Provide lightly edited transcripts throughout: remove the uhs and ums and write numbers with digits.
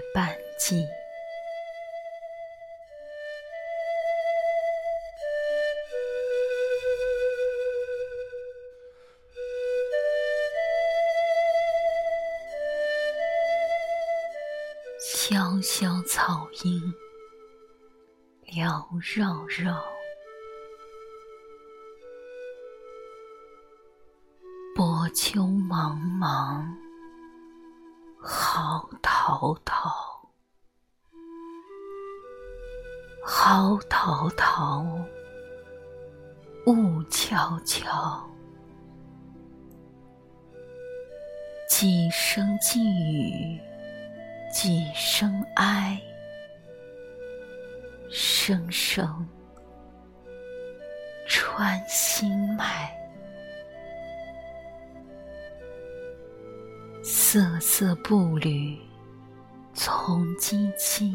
半季。萧萧草音缭绕绕，波秋茫茫浩滔滔，浩滔滔雾悄悄，几声寄语几声哀，声声穿心脉。瑟瑟步履从唧唧，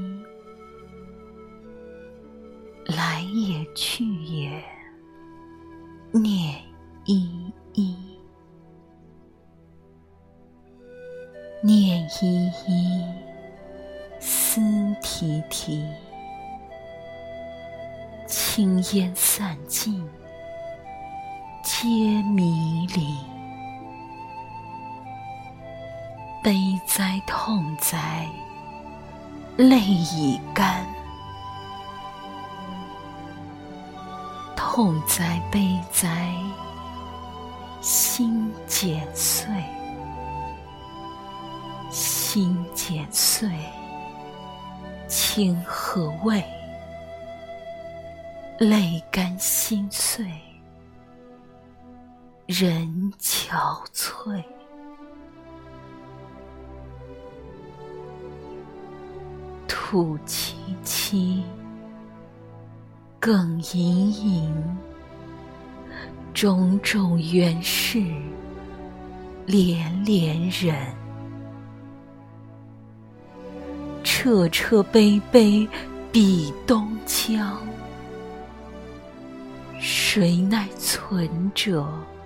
来也去也念依依，念依依思啼啼，青烟散尽皆迷离。悲哉痛哉泪已干，痛哉悲哉心剪碎，心剪碎情何味？泪干心碎人憔悴。土萋萋更隐隐，种种缘事连连忍。彻彻悲悲比东江，谁奈存者